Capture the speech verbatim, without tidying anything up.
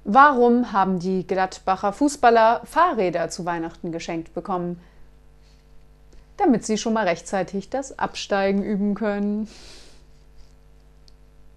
Warum haben die Gladbacher Fußballer Fahrräder zu Weihnachten geschenkt bekommen? Damit sie schon mal rechtzeitig das Absteigen üben können.